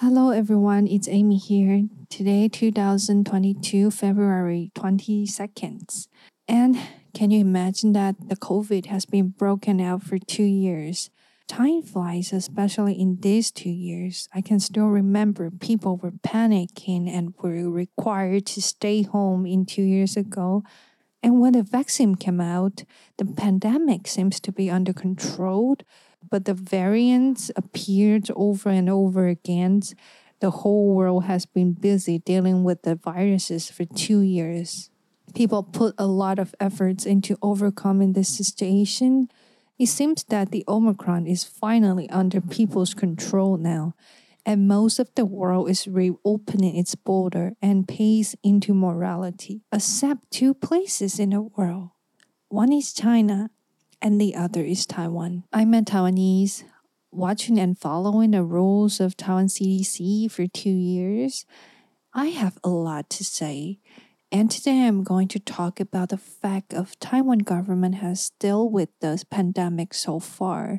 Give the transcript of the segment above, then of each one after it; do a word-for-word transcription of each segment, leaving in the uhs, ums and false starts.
Hello everyone, it's Amy here. Today, two thousand twenty-two, February twenty-second. And can you imagine that the COVID has been broken out for two years? Time flies, especially in these two years. I can still remember people were panicking and were required to stay home in two years ago. And when the vaccine came out, the pandemic seems to be under control, but the variants appeared over and over again. The whole world has been busy dealing with the viruses for two years. People put a lot of efforts into overcoming this situation. It seems that the Omicron is finally under people's control now, and most of the world is reopening its border and pays into morality, except two places in the world. One is China, and the other is Taiwan. I'm a Taiwanese, watching and following the rules of Taiwan C D C for two years. I have a lot to say, and today I'm going to talk about the fact of Taiwan government has dealt with this pandemic so far.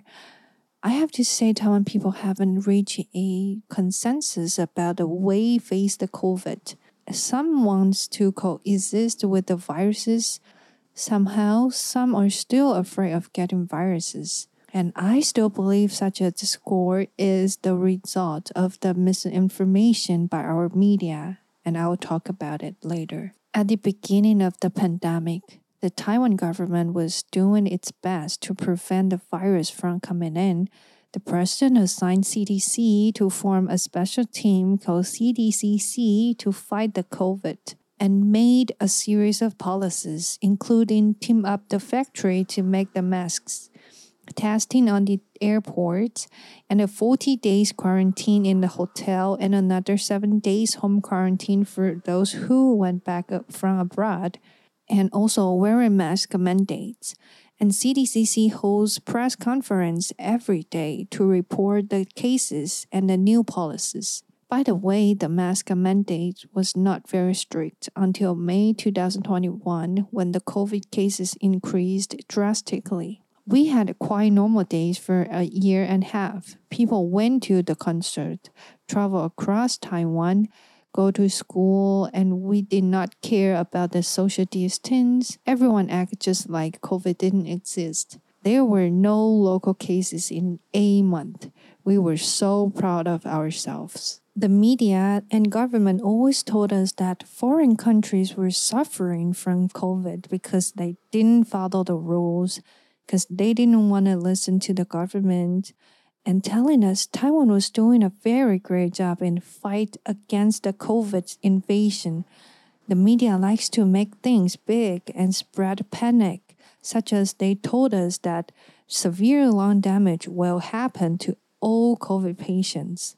I have to say Taiwan people haven't reached a consensus about the way face the COVID. Some wants to coexist with the viruses. Somehow, some are still afraid of getting viruses. And I still believe such a discord is the result of the misinformation by our media, and I will talk about it later. At the beginning of the pandemic, the Taiwan government was doing its best to prevent the virus from coming in. The president assigned C D C to form a special team called C D C C to fight the COVID, and made a series of policies, including team up the factory to make the masks, testing on the airports, and a forty days quarantine in the hotel, and another seven days home quarantine for those who went back from abroad, and also wearing mask mandates. And C D C C holds press conference every day to report the cases and the new policies. By the way, the mask mandate was not very strict until May twenty twenty-one when the COVID cases increased drastically. We had quite normal days for a year and a half. People went to the concert, traveled across Taiwan, go to school, and we did not care about the social distance. Everyone acted just like COVID didn't exist. There were no local cases in a month. We were so proud of ourselves. The media and government always told us that foreign countries were suffering from COVID because they didn't follow the rules, because they didn't want to listen to the government, and telling us Taiwan was doing a very great job in fight against the COVID invasion. The media likes to make things big and spread panic, such as they told us that severe lung damage will happen to all COVID patients,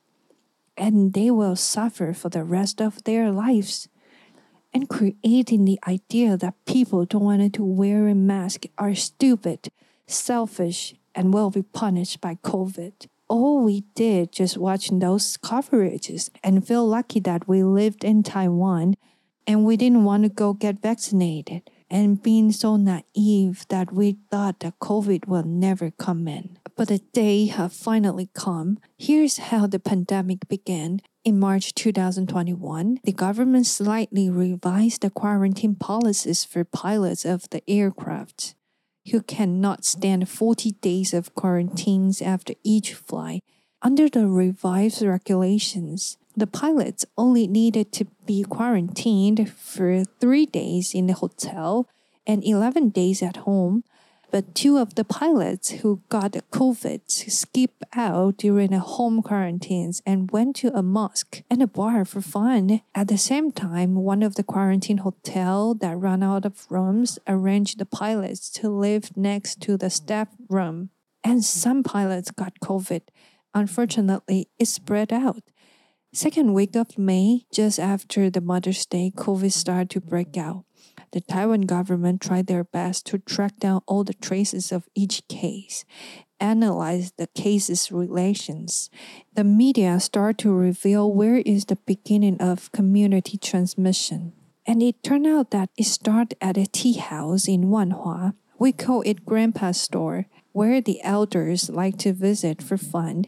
and they will suffer for the rest of their lives. And creating the idea that people don't want to wear a mask are stupid, selfish, and will be punished by COVID. All we did just watching those coverages and feel lucky that we lived in Taiwan and we didn't want to go get vaccinated, and being so naive that we thought that COVID will never come in. But the day have finally come. Here's how the pandemic began. In March twenty twenty-one, the government slightly revised the quarantine policies for pilots of the aircraft, who cannot stand forty days of quarantines after each flight. Under the revised regulations, the pilots only needed to be quarantined for three days in the hotel and eleven days at home. But two of the pilots who got COVID skipped out during the home quarantines and went to a mosque and a bar for fun. At the same time, one of the quarantine hotels that ran out of rooms arranged the pilots to live next to the staff room. And some pilots got COVID. Unfortunately, it spread out. Second week of May, just after the Mother's Day, COVID started to break out. The Taiwan government tried their best to track down all the traces of each case, analyze the cases' relations. The media started to reveal where is the beginning of community transmission. And it turned out that it started at a tea house in Wanhua. We call it Grandpa's store, where the elders like to visit for fun.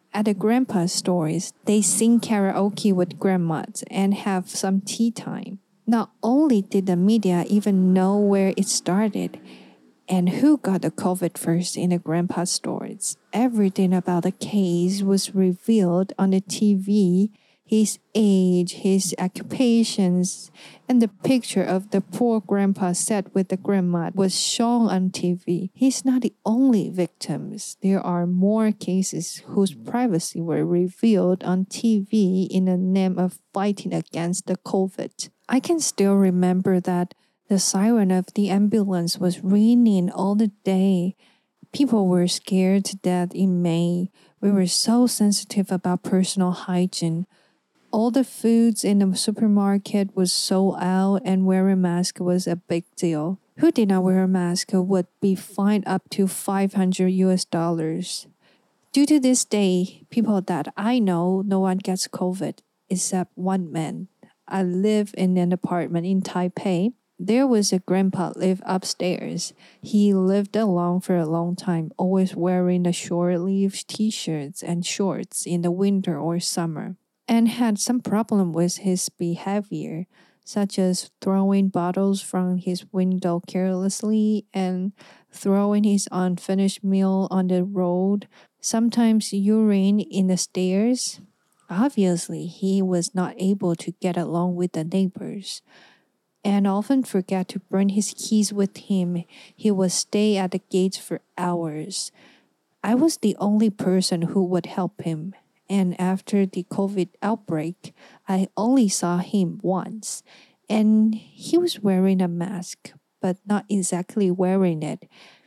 At the grandpa stores, they sing karaoke with grandmas and have some tea time. Not only did the media even know where it started and who got the COVID first in the grandpa stores, everything about the case was revealed on the T V. His age, his occupations, and the picture of the poor grandpa sat with the grandma was shown on T V. He's not the only victim. There are more cases whose privacy were revealed on T V in the name of fighting against the COVID. I can still remember that the siren of the ambulance was ringing all the day. People were scared to death in May. We were so sensitive about personal hygiene. All the foods in the supermarket was sold out and wearing a mask was a big deal. Who did not wear a mask would be fined up to five hundred U S dollars. Due to this day, people that I know, no one gets COVID except one man. I live in an apartment in Taipei. There was a grandpa live upstairs. He lived alone for a long time, always wearing the short-sleeved t-shirts and shorts in the winter or summer, and had some problem with his behavior, such as throwing bottles from his window carelessly and throwing his unfinished meal on the road, sometimes urine in the stairs. Obviously, he was not able to get along with the neighbors, and often forgot to bring his keys with him. He would stay at the gates for hours. I was the only person who would help him. And after the COVID outbreak, I only saw him once. And he was wearing a mask, but not exactly wearing it.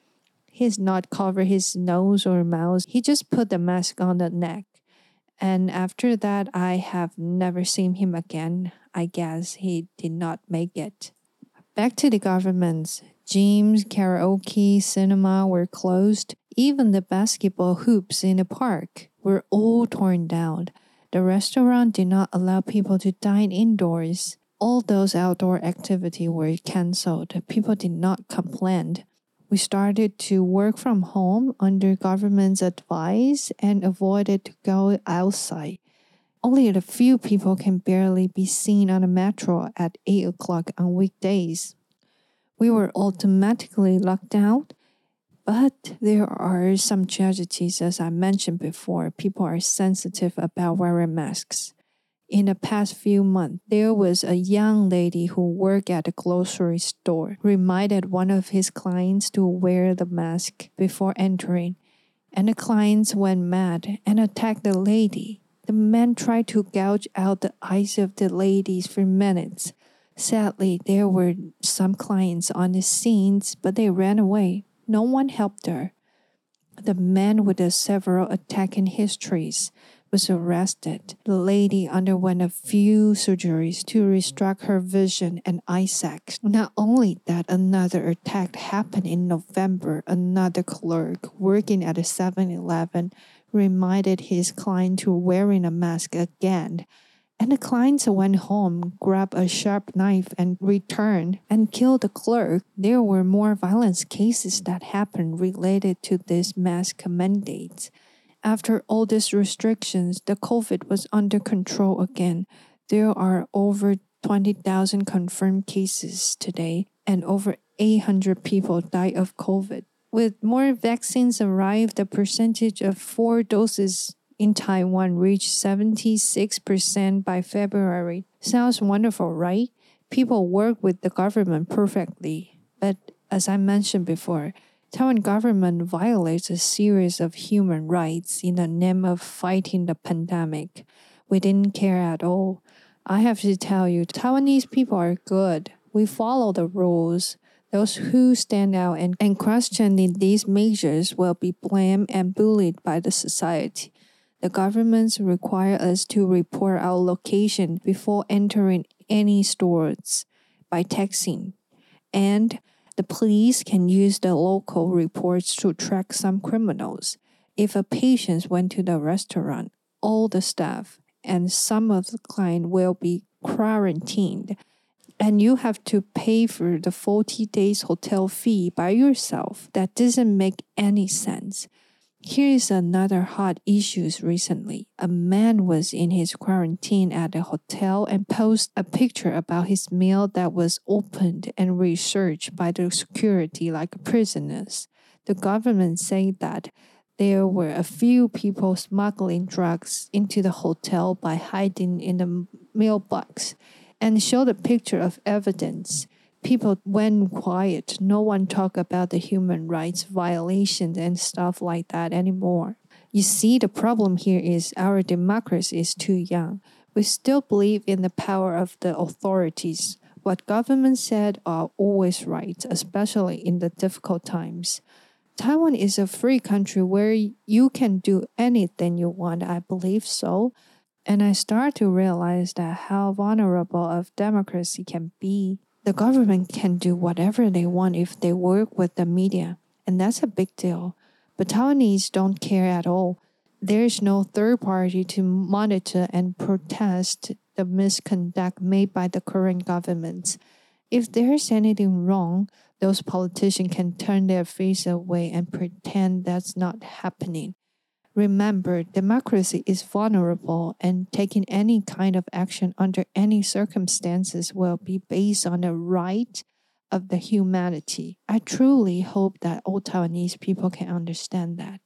He's not covered his nose or mouth. He just put the mask on the neck. And after that, I have never seen him again. I guess he did not make it. Back to the governments. Gyms, karaoke, cinema were closed. Even the basketball hoops in the park were all torn down. The restaurant did not allow people to dine indoors. All those outdoor activities were canceled. People did not complain. We started to work from home under government's advice and avoided to go outside. Only a few people can barely be seen on the metro at eight o'clock on weekdays. We were automatically locked out, but there are some tragedies, as I mentioned before. People are sensitive about wearing masks. In the past few months, there was a young lady who worked at a grocery store, reminded one of his clients to wear the mask before entering, and the clients went mad and attacked the lady. The man tried to gouge out the eyes of the ladies for minutes. Sadly, there were some clients on the scenes, but they ran away. No one helped her. The man with the several attacking histories was arrested. The lady underwent a few surgeries to reconstruct her vision and eyesight. Not only that, another attack happened in November. Another clerk working at a seven eleven reminded his client to wearing a mask again. And the clients went home, grabbed a sharp knife and returned and killed the clerk. There were more violent cases that happened related to this mask mandate. After all these restrictions, the COVID was under control again. There are over twenty thousand confirmed cases today, and over eight hundred people died of COVID. With more vaccines arrived, the percentage of four doses in Taiwan reached seventy-six percent by February. Sounds wonderful, right? People work with the government perfectly. But as I mentioned before, Taiwan government violates a series of human rights in the name of fighting the pandemic. We didn't care at all. I have to tell you, Taiwanese people are good. We follow the rules. Those who stand out and, and question these measures will be blamed and bullied by the society. The governments require us to report our location before entering any stores by texting. And the police can use the local reports to track some criminals. If a patient went to the restaurant, all the staff and some of the client will be quarantined, and you have to pay for the forty days hotel fee by yourself. That doesn't make any sense. Here is another hot issue recently. A man was in his quarantine at a hotel and posted a picture about his meal that was opened and researched by the security like prisoners. The government said that there were a few people smuggling drugs into the hotel by hiding in the mailbox and showed a picture of evidence. People went quiet. No one talked about the human rights violations and stuff like that anymore. You see, the problem here is our democracy is too young. We still believe in the power of the authorities. What government said are always right, especially in the difficult times. Taiwan is a free country where you can do anything you want, I believe so. And I start to realize that how vulnerable of democracy can be. The government can do whatever they want if they work with the media, and that's a big deal. But Taiwanese don't care at all. There is no third party to monitor and protest the misconduct made by the current government. If there's anything wrong, those politicians can turn their face away and pretend that's not happening. Remember, democracy is vulnerable, and taking any kind of action under any circumstances will be based on the right of the humanity. I truly hope that all Taiwanese people can understand that.